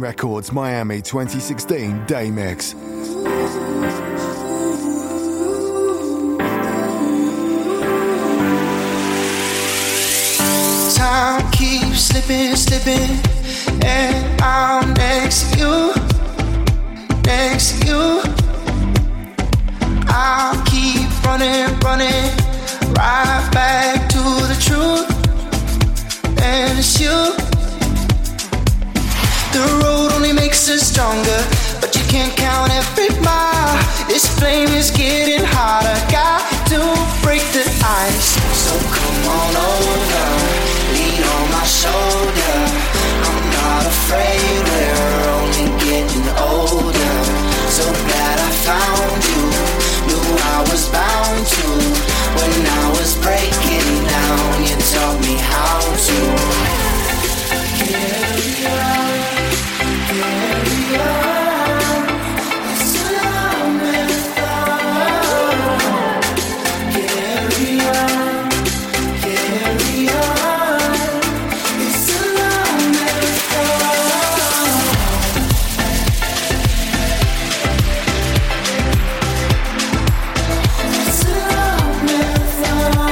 Records Miami 2016 Day Mix. Time keeps slipping, and I'm next to you. I'll keep running, right back to the truth, and it's you. The road only makes us stronger, but you can't count every mile. This flame is getting hotter, got to break the ice. So come on over, lean on my shoulder. I'm not afraid, we're only getting older. So glad I found you, knew I was bound to. When I was breaking down, you taught me how to carry on. It's a long marathon. Carry on. It's a long marathon. It's a long marathon.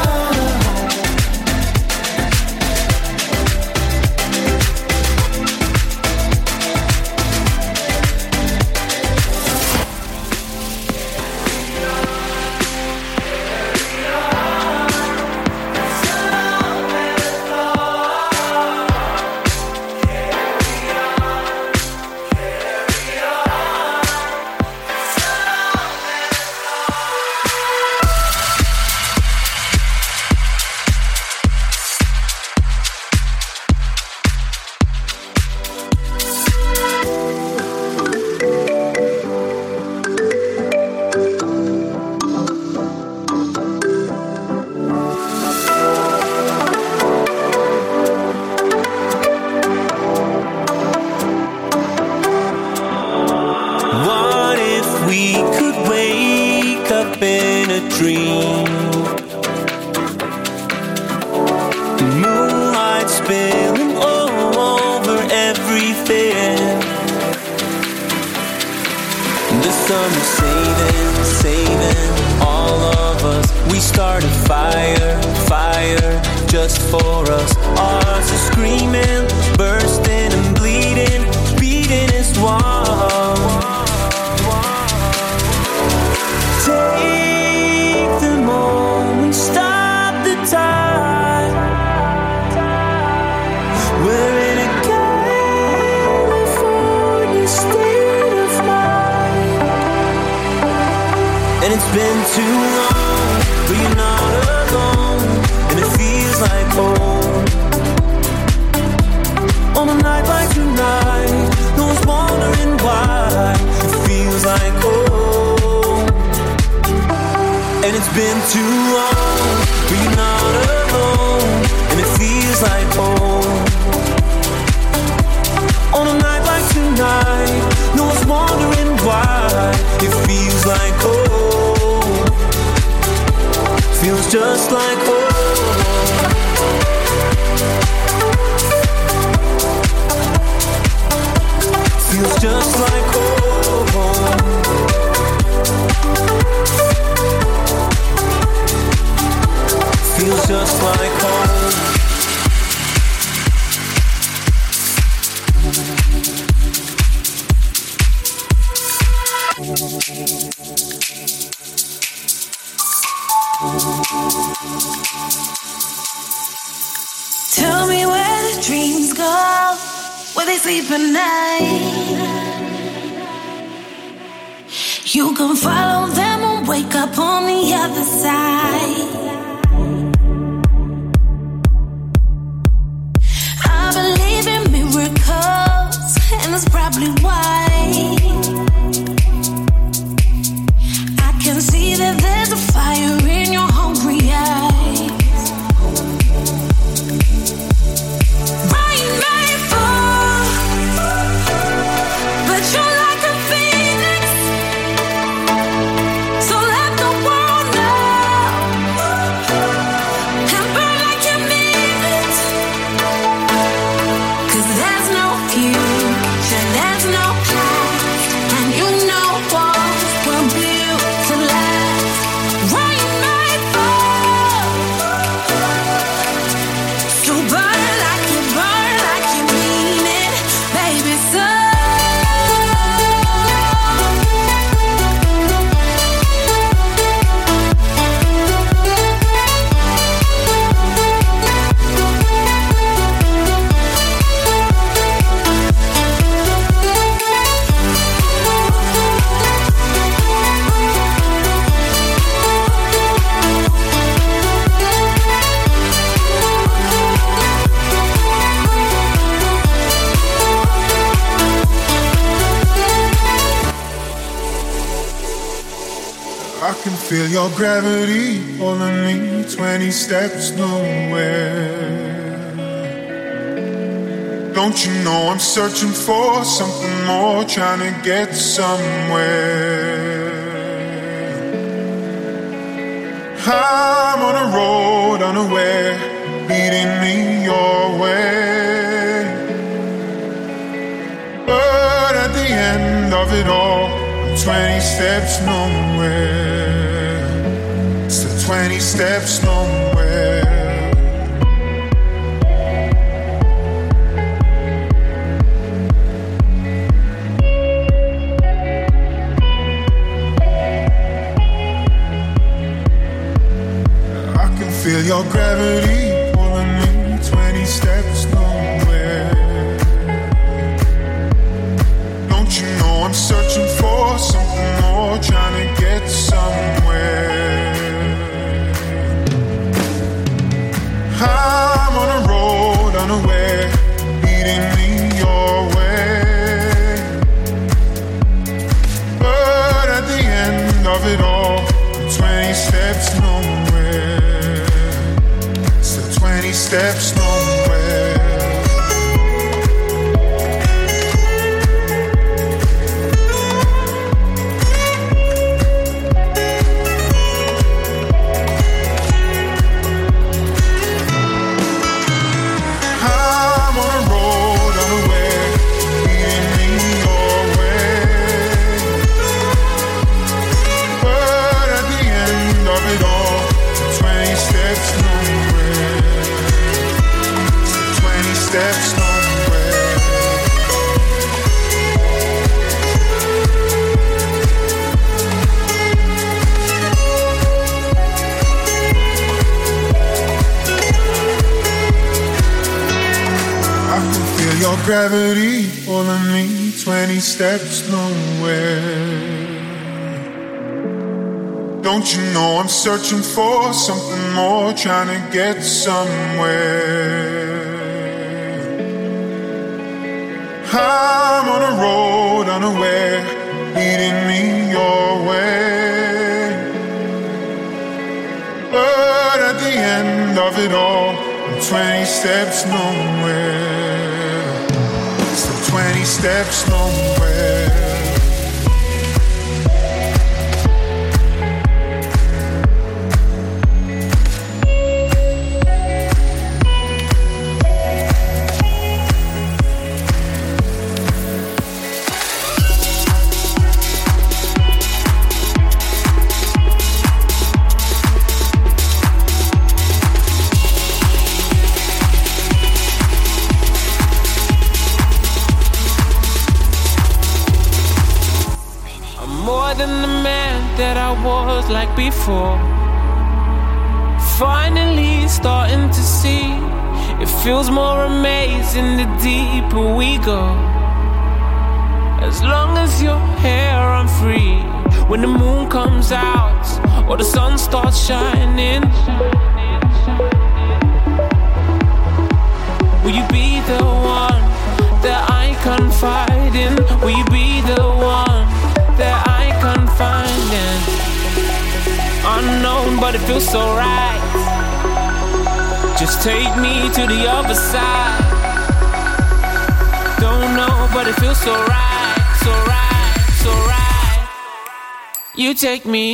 Tell me where the dreams go, where they sleep at night. You can follow them and wake up on the other side. I believe in miracles, and that's probably why I can see that there's a fire in your hungry eyes. Phoenix, so let the world know Feel your gravity pulling me 20 steps nowhere. Don't you know I'm searching for something more, trying to get somewhere. I'm on a road unaware, leading me your way. But at the end of it all, I'm 20 steps nowhere. Still 20 steps nowhere. Feel your gravity pulling me 20 steps nowhere. Don't you know I'm searching for something more, trying to get somewhere. I'm on a road unaware, leading me your way. But at the end of it all, 20 steps nowhere. 20 steps nowhere. I'm on a road unaware, leading me your way. But at the end of it all, 20 steps nowhere. Steps nowhere. I can feel your gravity pulling me 20 steps nowhere. Don't you know I'm searching for something more, trying to get somewhere. I'm on a road unaware, leading me your way. But at the end of it all, I'm 20 steps nowhere. Still 20 steps nowhere. That I was like before. Finally starting to see, it feels more amazing the deeper we go. As long as you're here, I'm free. When the moon comes out or the sun starts shining, will you be the one that I confide in? Will you be the one that I confide in? Unknown, but it feels so right. Just take me to the other side. Don't know, but it feels so right, so right, so right. You take me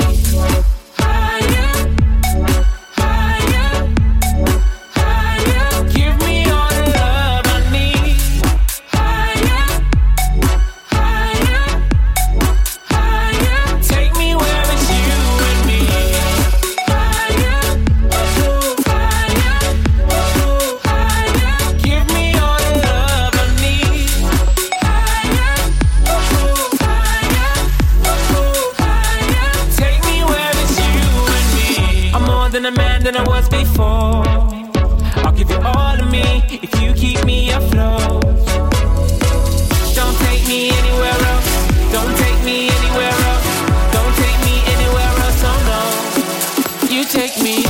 than a man than I was before. I'll give you all of me if you keep me afloat. Don't take me anywhere else. Don't take me anywhere else. Don't take me anywhere else. Oh no, you take me.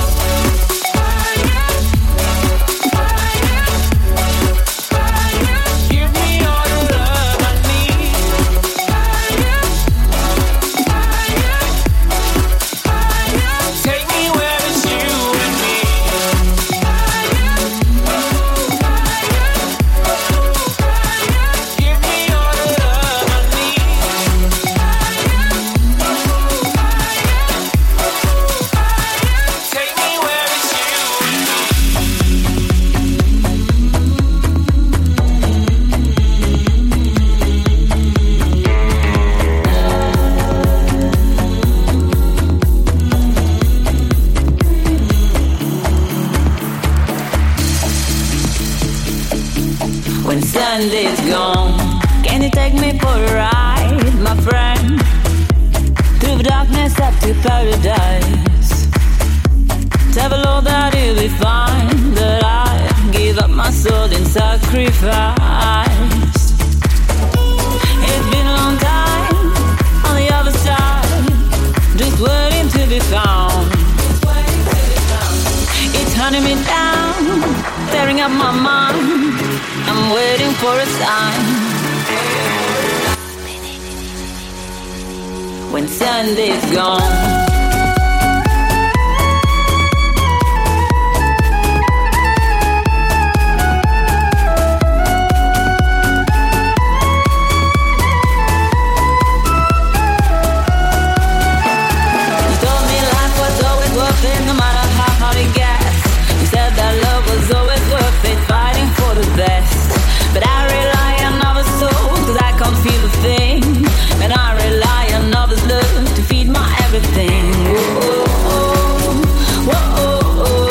Sunday's gone, can you take me for a ride, my friend? Through the darkness up to paradise. Tell Lord that you'll be fine, that I give up my soul in sacrifice. It's been a long time on the other side, just waiting to be found. It's hunting me down, tearing up my mind. I'm waiting for a sign. When Sunday's gone, no matter how hard it gets. You said that love was always worth it, fighting for the best. But I rely on other souls, cause I can't feel a thing. And I rely on others' love to feed my everything. Whoa, oh, whoa, oh, oh.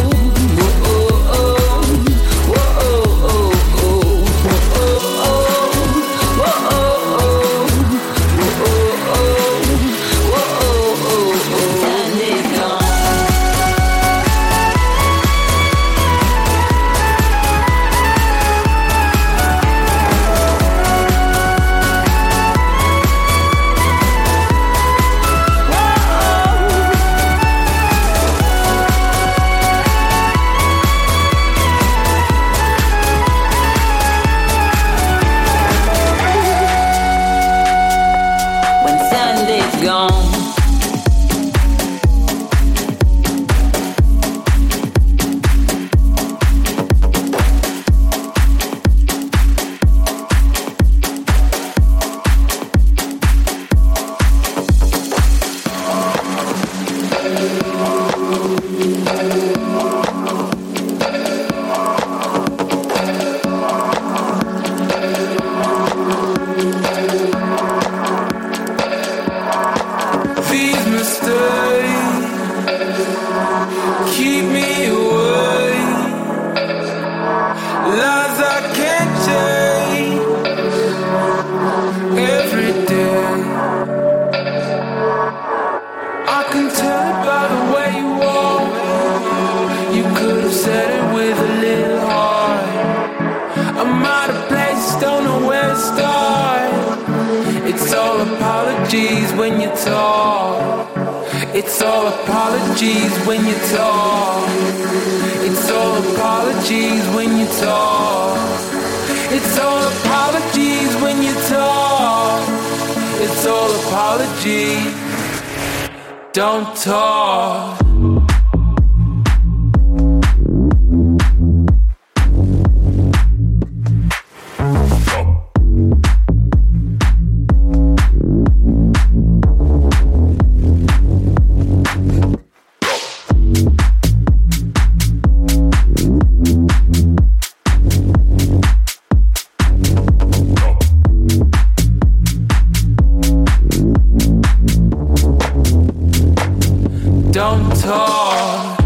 It's all apologies when you talk. It's all apologies when you talk. It's all apologies when you talk. It's all apologies. Don't talk. Don't talk.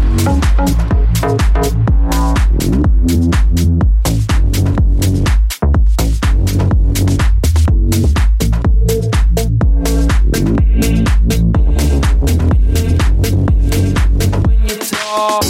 When you talk.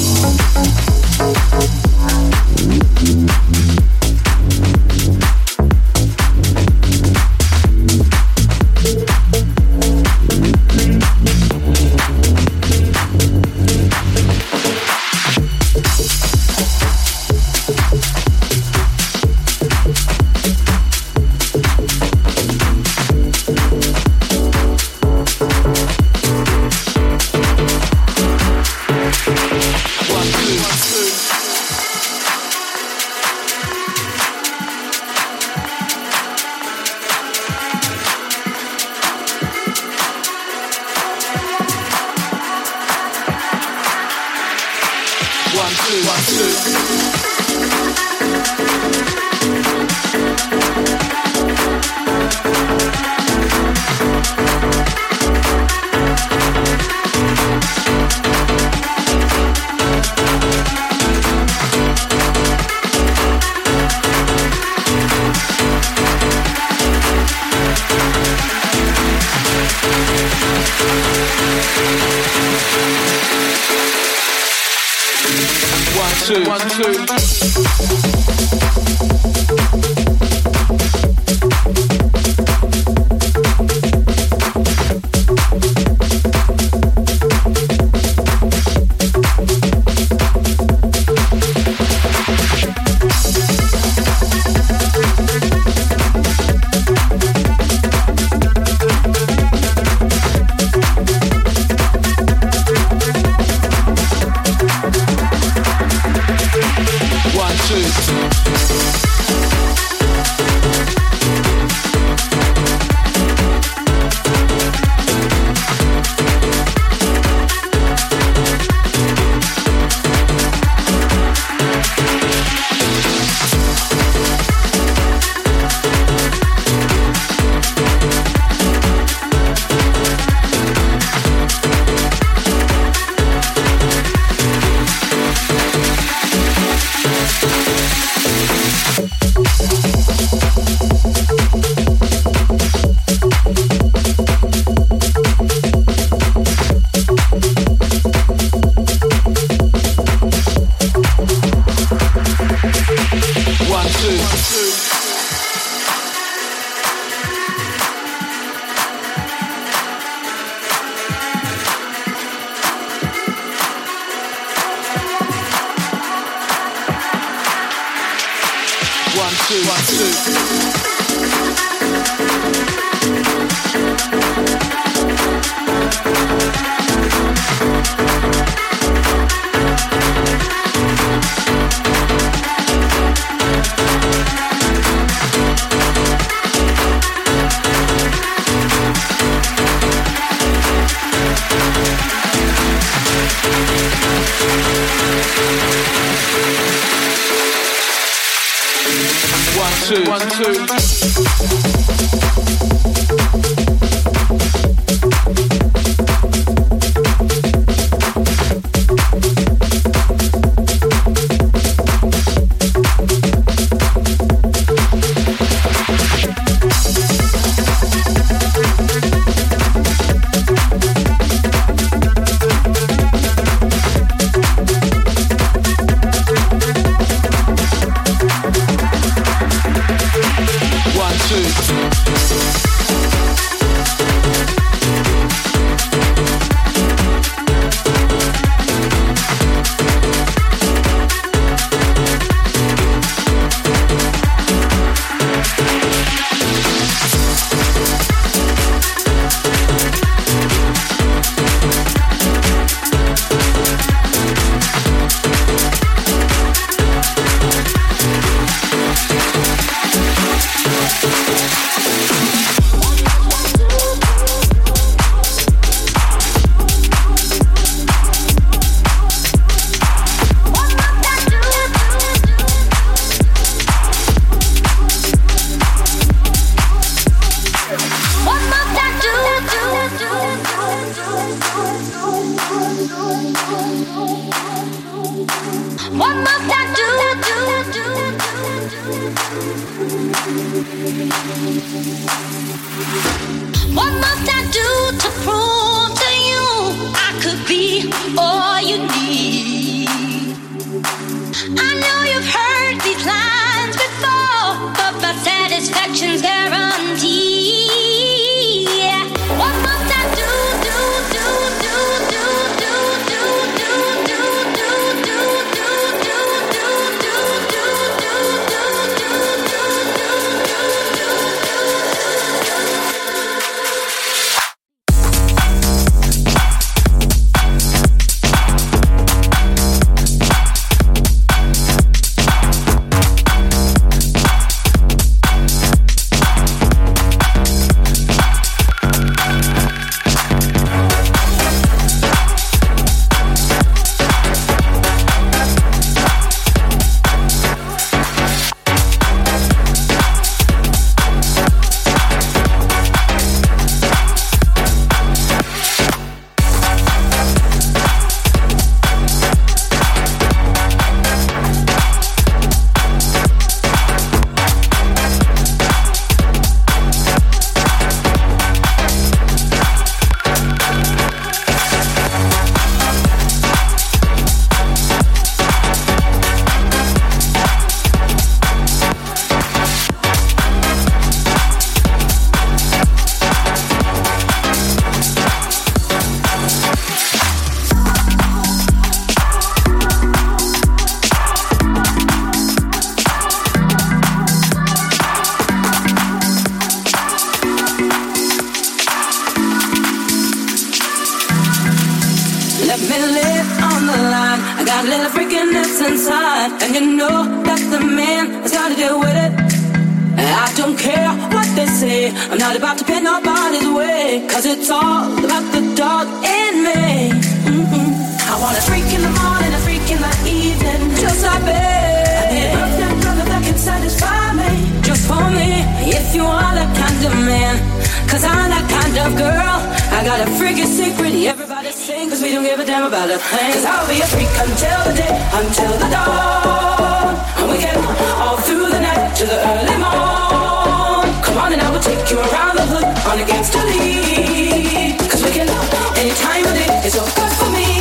got a little freakiness inside, and you know that the man has gotta deal with it. I don't care what they say, I'm not about to pin nobody's way, cause it's all about the dog in me. I want a freak in the morning, a freak in the evening, just like me. I need a perfect brother that can satisfy me, just for me. If you are that kind of man, cause I'm that kind of girl. I got a freaky secret, everybody sing, cause we don't give a damn about a thing. Cause I'll be a freak until the day, until the dawn, and we get all through the night to the early morn. Come on and I will take you around the hood on a gangster lead, cause we can any time of day, it's so good for me.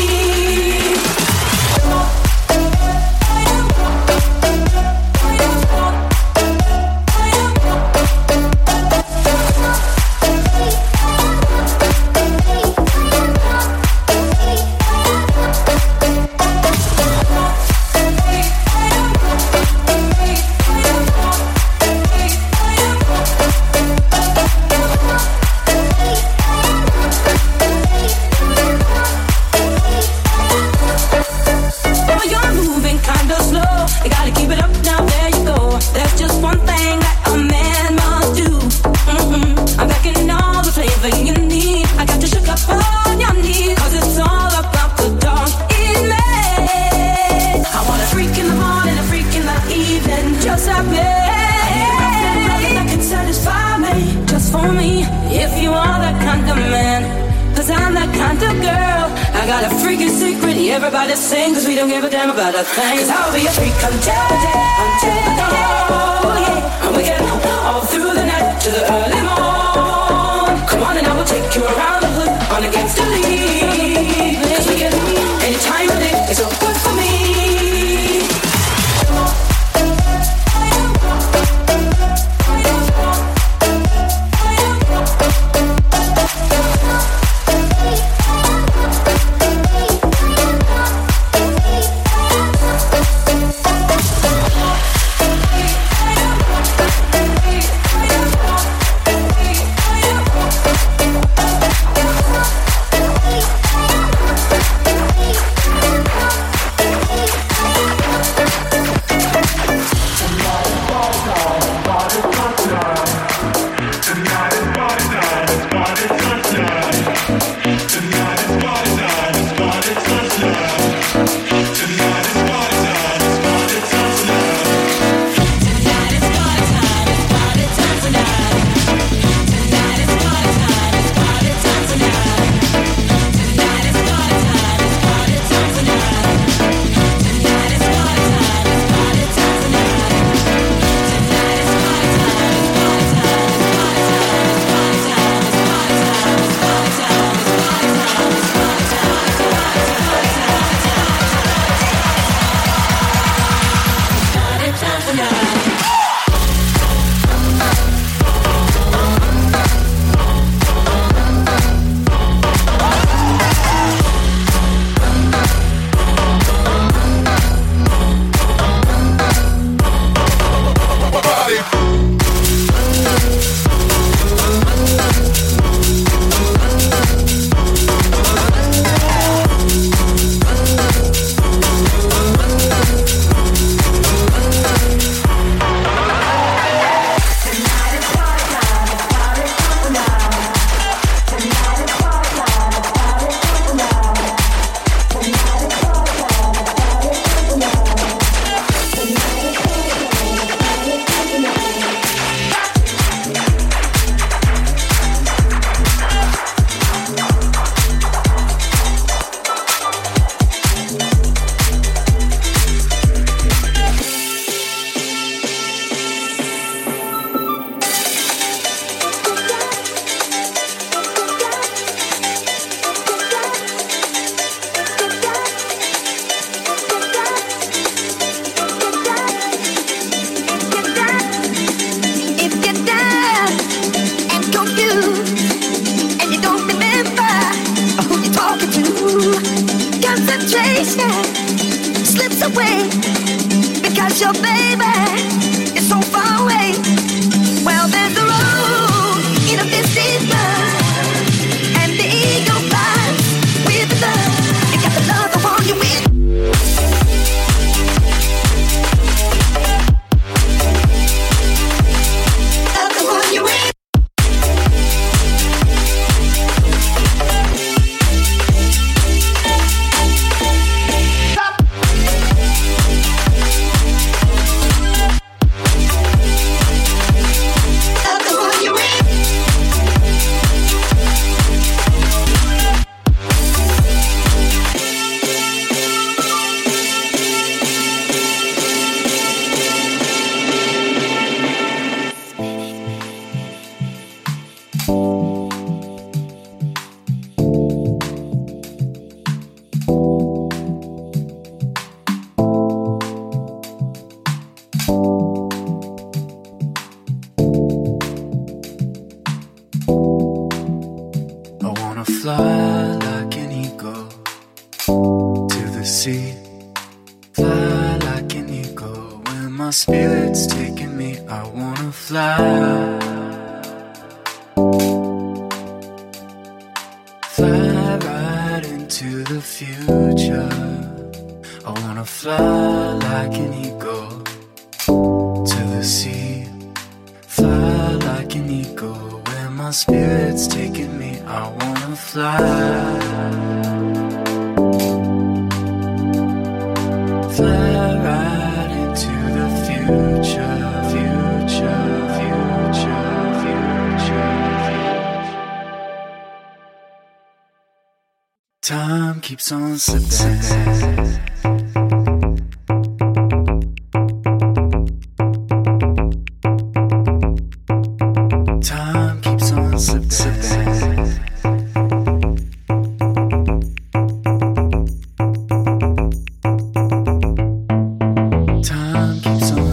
Everybody sing, cause we don't give a damn about a thing. Cause I'll be a freak until the day, until the dawn, yeah. And we get all through the night to the early morn. Come on and I will take you around the hood on a gangster lead, cause we get any time of day, it's so good for me. Concentration slips away because your baby is so far away. Well, there's a road in a distant mind, and the eagle flies with the love. You got the love, the one you win. my spirit's taking me, I wanna fly. Fly right into the future. I wanna fly like an eagle to the sea. Fly like an eagle. Where my spirit's taking me, I wanna fly. Fly right into the future, future, future, future. Time keeps on slipping. Time keeps on slipping. Time keeps on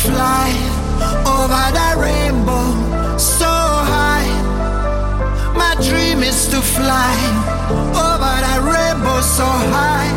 fly over the rainbow so high. My dream is to fly over the rainbow so high.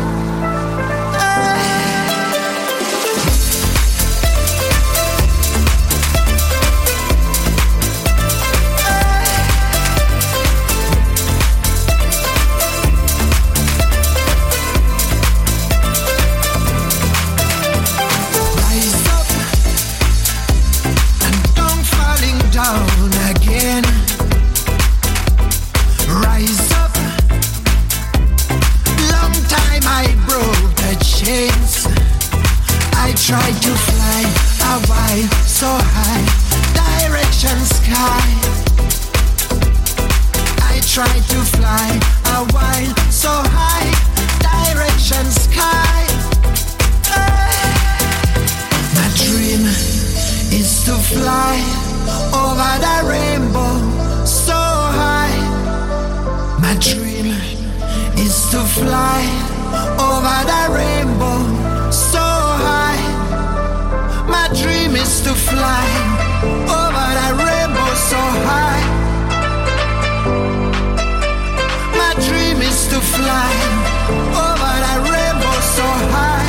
Try to fly a while so high, direction sky. I try to fly a while so high, direction sky. My dream is to fly over the rainbow so high. My dream is to fly over the rainbow so high. My dream is to fly over the rainbow so high. My dream is to fly over the rainbow so high.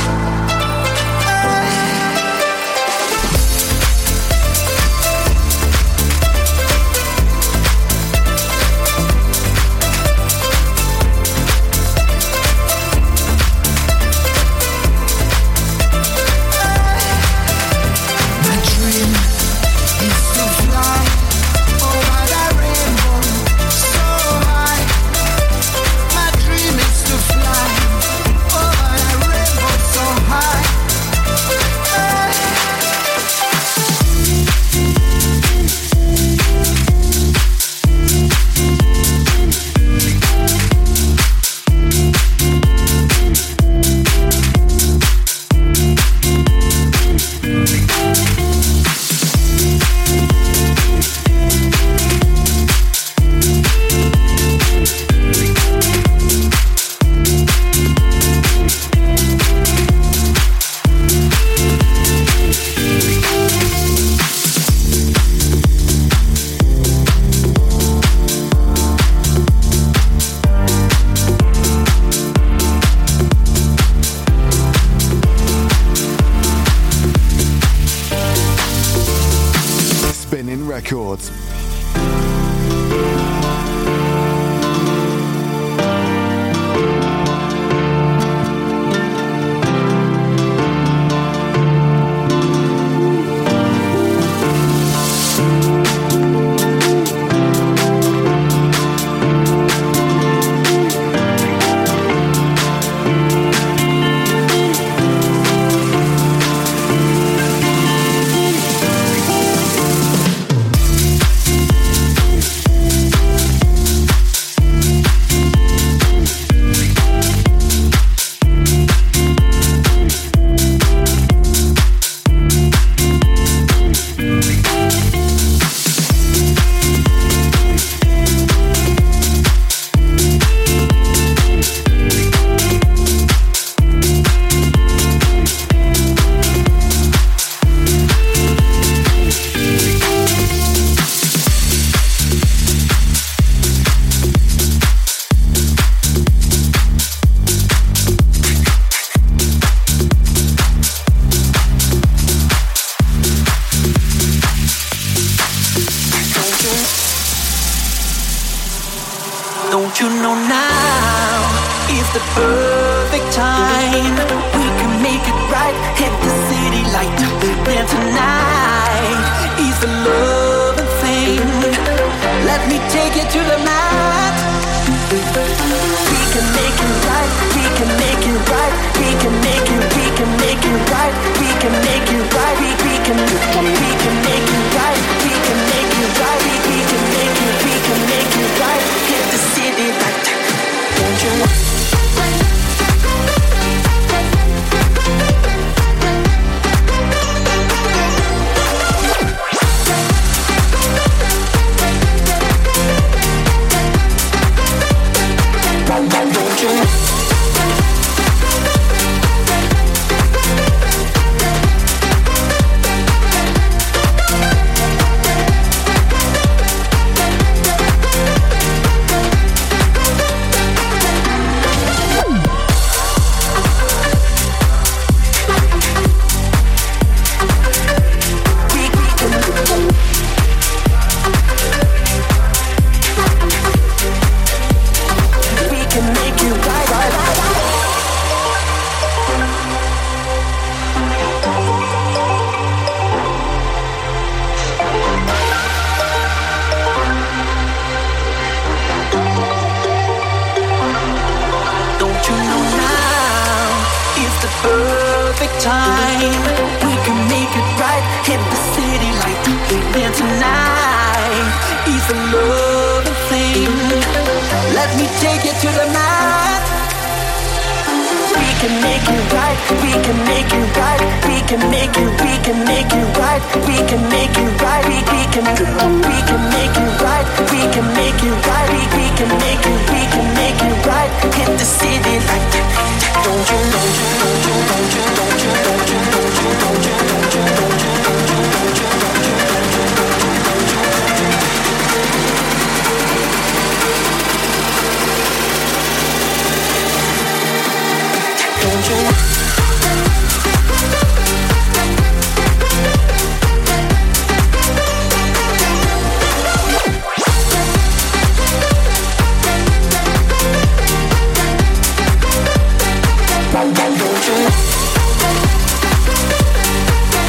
Records. Don't you know now is the perfect time? We can make it right, hit the city light. Then tonight is the loving thing. Let me take you to the mat. We can make it right, we can make it right, we can make it, we can make it right, we can make it right, we can make it right, we can make it right, we can make it right. Hit the city light. Don't you want? take it to the mat. We can make it right, we can make it right, we can make it, we can make it right, we can make it right, we can make it right, we can make it right, we can make it, we can make it right. Hit the city like that. Don't you, don't you, don't you, don't you, don't you, don't you, don't you, don't you, don't you, don't you, don't you, don't you. Don't you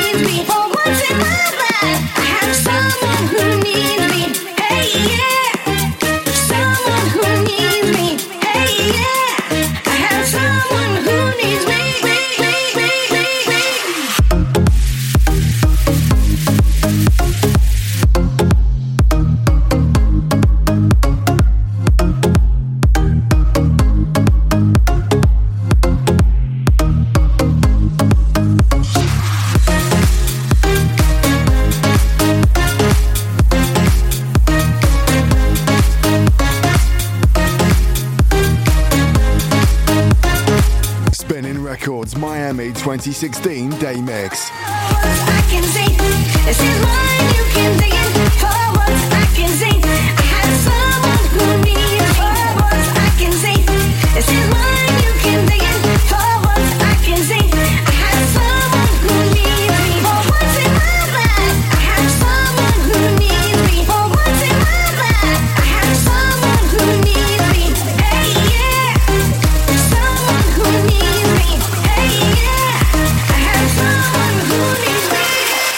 Miami 2016 Day Mix. I can see, this is mine, you can dig it. For once I can see, I have someone who needs me. For once I can see, this is mine, you can dig it. For once I can see, I have someone who needs me. For once in my life, I have someone who needs me. For once in my life, I have someone who needs me. Hey yeah, someone who needs me. Hey yeah, I have someone who needs me.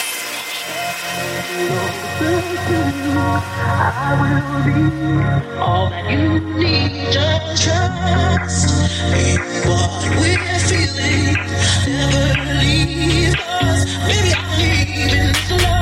I will be all that you need. Just trust in what we're feeling. Never leave us. Maybe I'll leave in this love.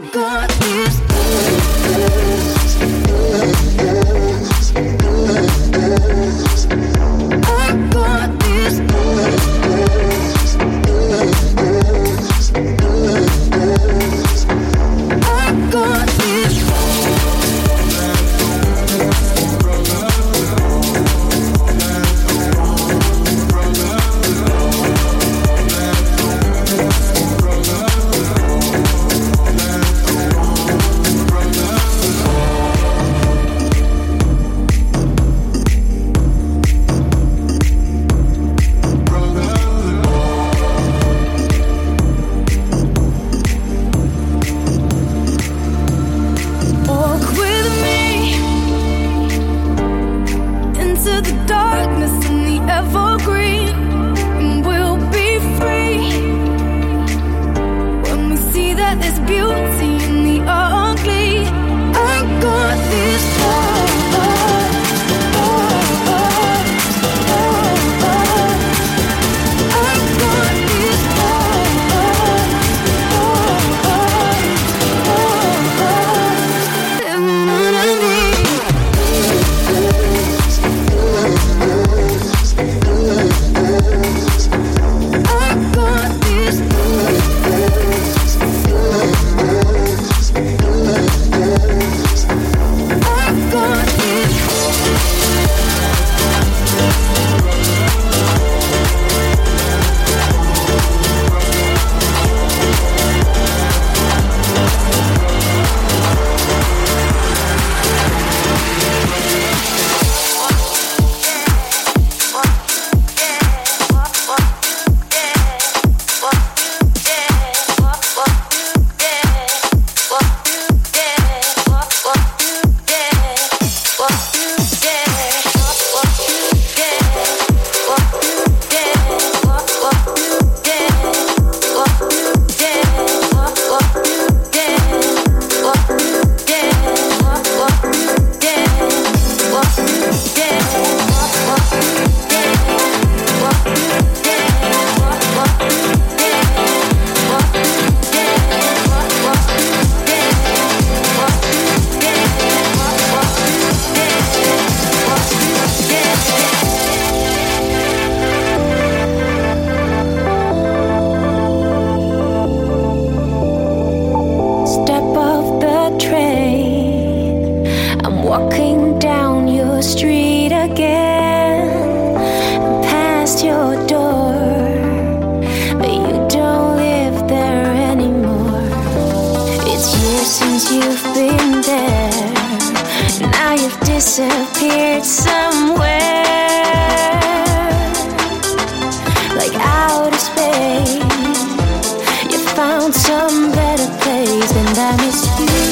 got this. I got this. I got this. Disappeared somewhere, like outer space. You found some better place, and I miss you.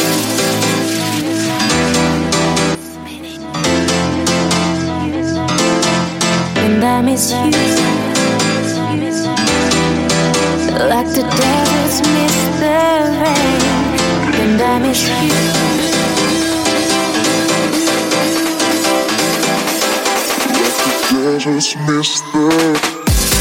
And I miss you, like the devils miss the rain. And I miss you. I just missed that.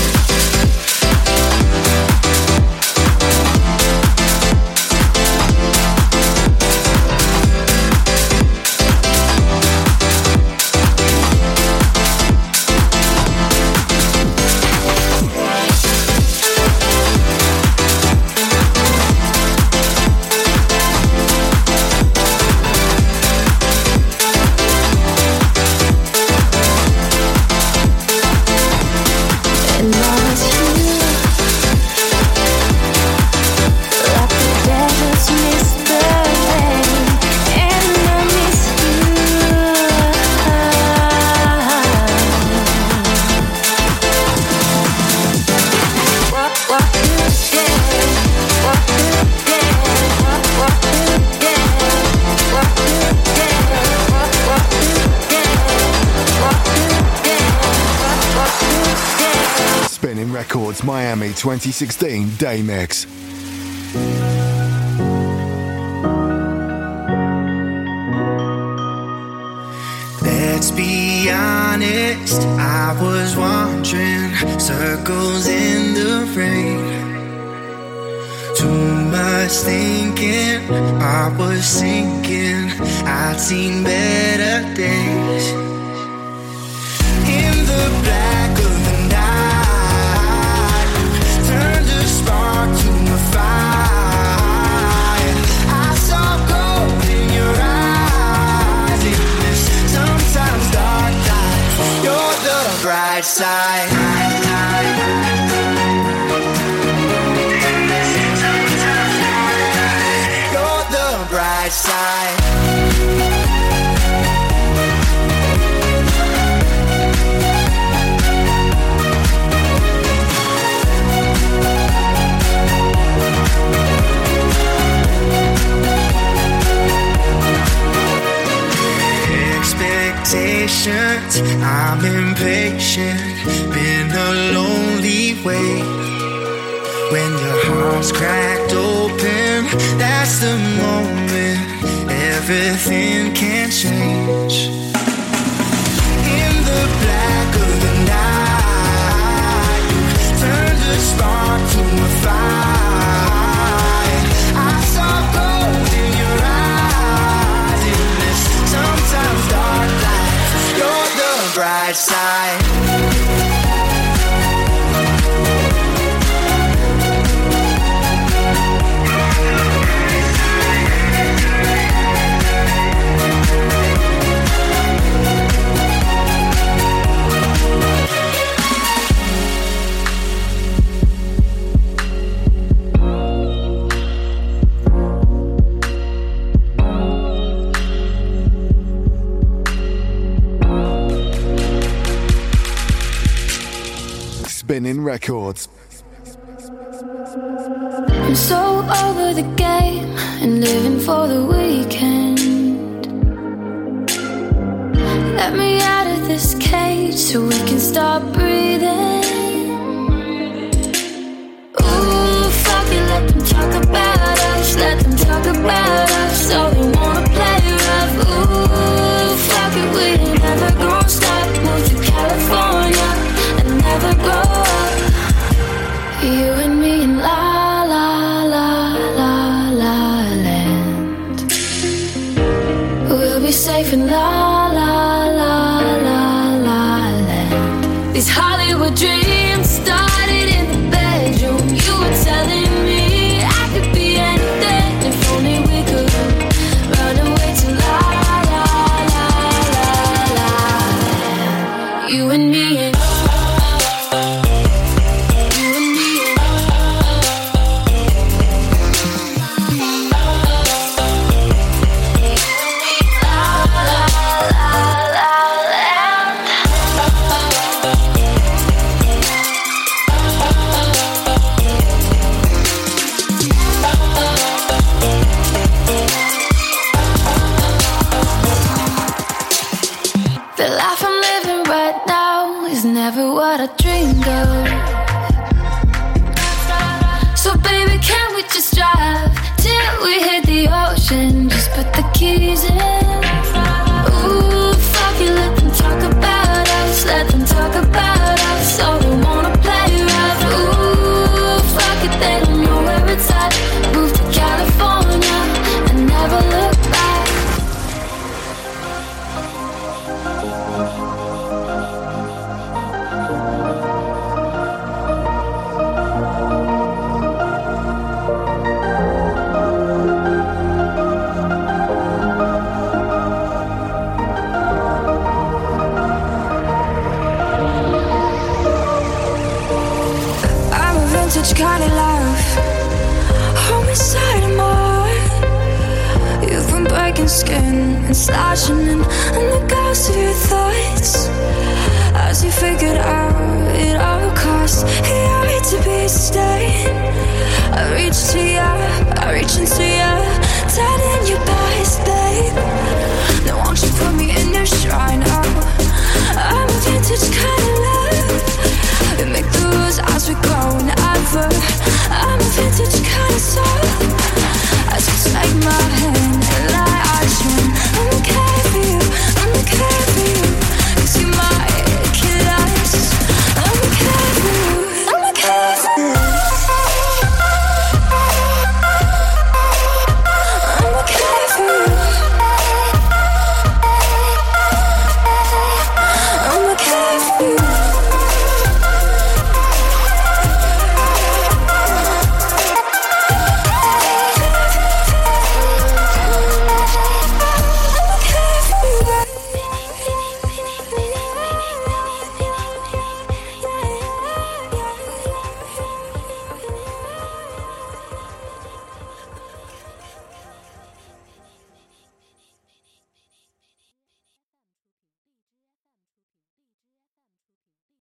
Records Miami 2016 Day Mix. Let's be honest, I was wandering circles in the rain. Too much was thinking, I was thinking I'd seen better days. In the black of the night, turned a spark to a fire. I saw gold in your eyes. In this sometimes dark life, you're the bright side. You're the bright side. Expectations, I'm impatient. Been a lonely way. When your heart's cracked open, that's the moment everything can change. In the black of the night, turned a spark to a fire. I saw gold in your eyes. In this sometimes dark life, you're the bright side. Spinning records. I'm so over the game and living for the weekend. Let me out of this cage so we can start breathing. Ooh, fuck it, let them talk about us. Let them talk about us. So they wanna play rough. Ooh, fuck it, we ain't never gonna stop. Move to California and never grow up. You and me in la la la la la land. We'll be safe in la la la la la land. These Hollywood dreams started in the bedroom. You were telling me I could be anything if only we could run away to la la la la la land. You and me in never what I dreamed of. So baby, can we just drive till we hit the ocean? Just put the keys in. Ooh, fuck it, let them talk about us. Let them talk about us. So they wanna play rough. Ooh, fuck it, they don't know where it's at. Move to California and never look back. Kind of love, homicide in my heart. You've been breaking skin and slashing in the ghost of your thoughts. As you figured out it all costs, you hate to be staying. I reach to you, I reach into you, dead in your bodies, babe. Now won't you put me in your shrine? Oh, I'm a vintage kind of love. We make the rules as we go, never. I'm a vintage kind of soul.